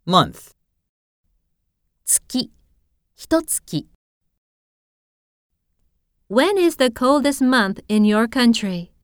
month, 月、一月。When is the coldest month in your country?